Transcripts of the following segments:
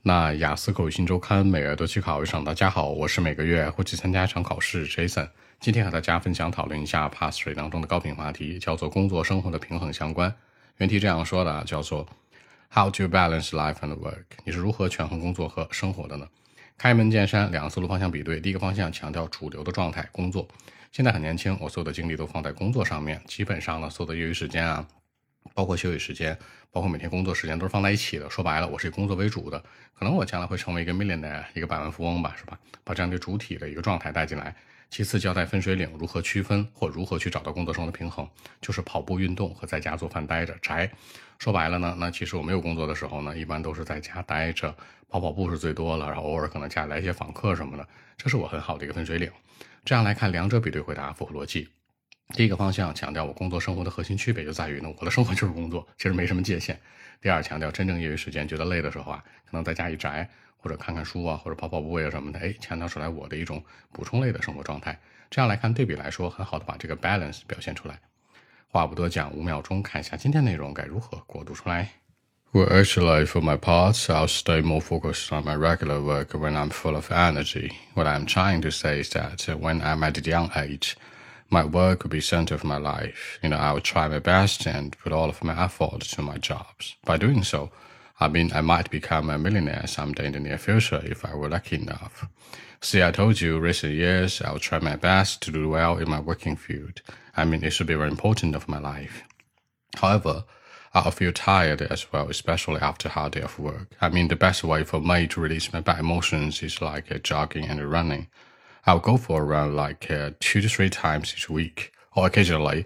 那雅思口语新周刊每月都去考一场，大家好，我是每个月会去参加一场考试 Jason。今天和大家分享讨论一下 Pass Rate 当中的高频话题，叫做工作生活的平衡相关。原题这样说的，叫做 How do you balance life and work？ 你是如何权衡工作和生活的呢？开门见山，两个思路方向比对。第一个方向强调主流的状态，工作。现在很年轻，我所有的精力都放在工作上面，基本上呢，所有的业余时间啊，包括休息时间，包括每天工作时间都是放在一起的。说白了，我是以工作为主的。可能我将来会成为一个 millionaire， 一个百万富翁吧，是吧？把这样的主体的一个状态带进来。其次，交代分水岭，如何区分或如何去找到工作生活的平衡，就是跑步运动和在家做饭待着宅。说白了呢，那其实我没有工作的时候呢，一般都是在家待着，跑步是最多了，然后偶尔可能家里来一些访客什么的，这是我很好的一个分水岭。这样来看，两者比对回答符合逻辑。第一个方向强调我工作生活的核心区别就在于呢，我的生活就是工作，其实没什么界限。第二，强调真正业余时间觉得累的时候啊，可能在家一宅或者看看书啊，或者跑步啊什么的，强调出来我的一种补充类的生活状态。这样来看，对比来说，很好的把这个 balance 表现出来。话不多讲，5秒钟看一下今天内容该如何给我读出来。Well, actually, for my part, I'll stay more focused on my regular work when I'm full of energy. What I'm trying to say is that when I'm at a young age, my work will be center of my life. I will try my best and put all of my effort to my jobs. By doing so, I might become a millionaire someday in the near future if I were lucky enough. See, I told you recent years I will try my best to do well in my working field. It should be very important of my life. However, I'll feel tired as well, especially after a hard day of work. The best way for me to release my bad emotions is like jogging and running. I'll go for a run like 2 to 3 times each week, or occasionally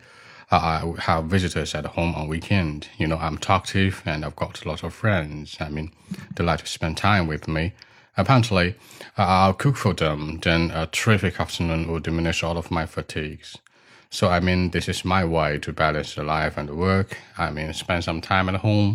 I will have visitors at home on weekend. I'm talkative and I've got lots of friends. They like to spend time with me. Apparently, I'll cook for them, then a terrific afternoon will diminish all of my fatigues. So, this is my way to balance the life and the work. Spend some time at home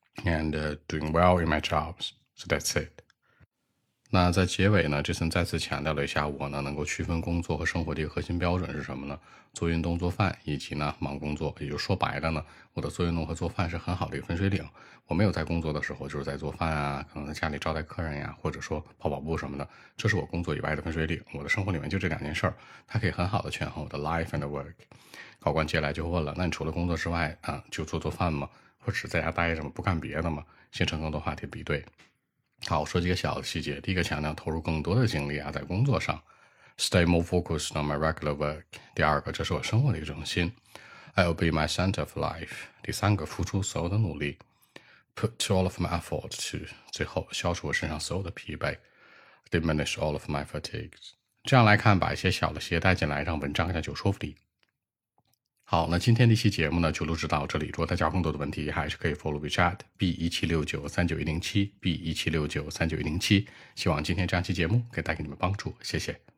and doing well in my jobs. So that's it. 那在结尾呢，Jason再次强调了一下我呢能够区分工作和生活的一个核心标准是什么呢？做运动、做饭，以及呢忙工作。也就说白了呢，我的做运动和做饭是很好的一个分水岭。我没有在工作的时候，就是在做饭啊，可能在家里招待客人呀，或者说跑步什么的，这是我工作以外的分水岭。我的生活里面就这2件事儿，它可以很好的权衡我的 life and work。考官接下来就问了，那你除了工作之外就做饭吗？或者是在家待着吗？不干别的吗？形成更多话题比对。好，说几个小的细节。第一个强调投入更多的精力在工作上 ，stay more focused on my regular work。第二个，这是我生活的一个中心 ，I'll be my center of life。第三个，付出所有的努力 ，put all of my effort to。最后，消除我身上所有的疲惫 ，diminish all of my fatigues。这样来看，把一些小的细节带进来，让文章更加有说服力。好，那今天这期节目呢就录制到这里。如果大家有更多的问题，还是可以 follow WeChat B176939107107 B176939107107。希望今天这样期节目可以带给你们帮助，谢谢。